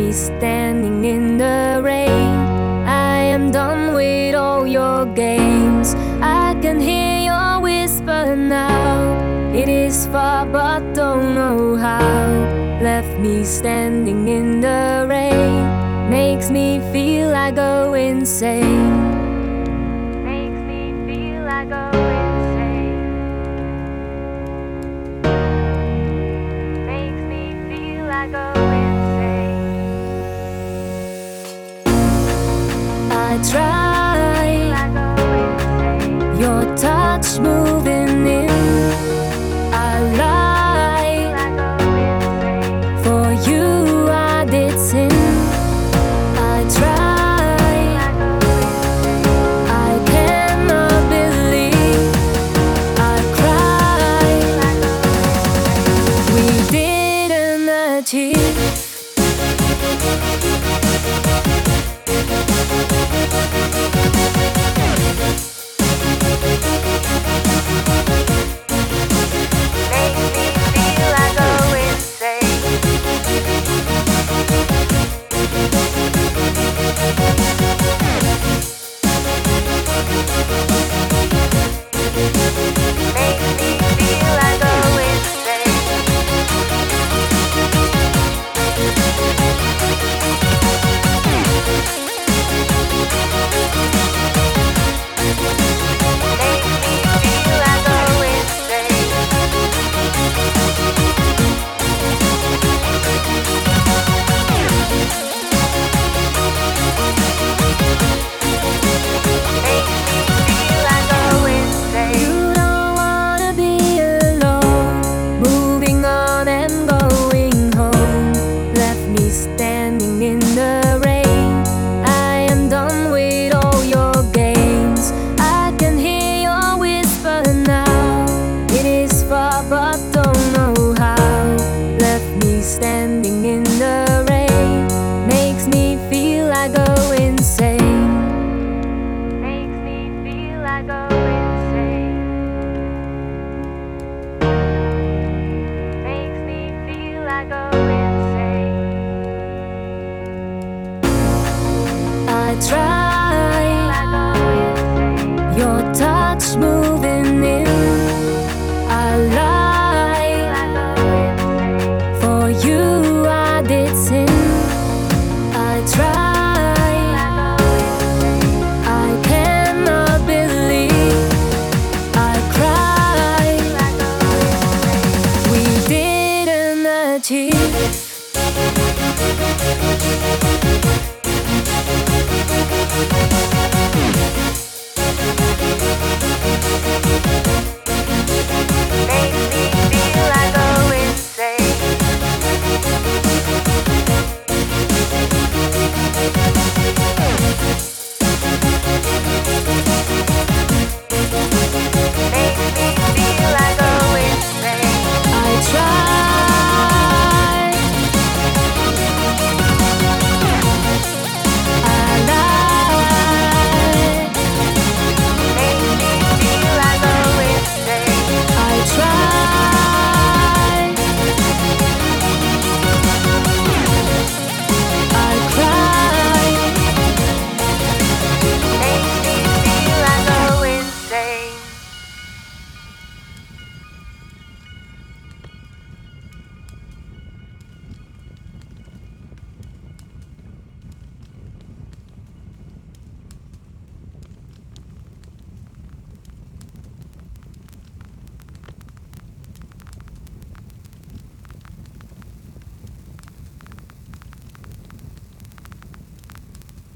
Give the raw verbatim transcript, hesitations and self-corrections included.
me standing in the rain. I am done with all your games. I can hear your whisper now. It is far but don't know how. Left me standing in the rain. Makes me feel I go insane. Makes me feel I go insane. Makes me feel I go insane. I try, I go insane. Your touch moving in. I lie, I go insane. For you I did sin. I try, I go insane. I cannot believe. I cry, I go insane. We didn't achieve. Standing in the rain, I am done with all your games. I can hear your whisper now. It is far but